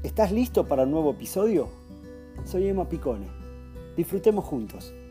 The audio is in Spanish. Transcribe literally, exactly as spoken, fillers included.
¿Estás listo para un nuevo episodio? Soy Emma Picone. Disfrutemos juntos.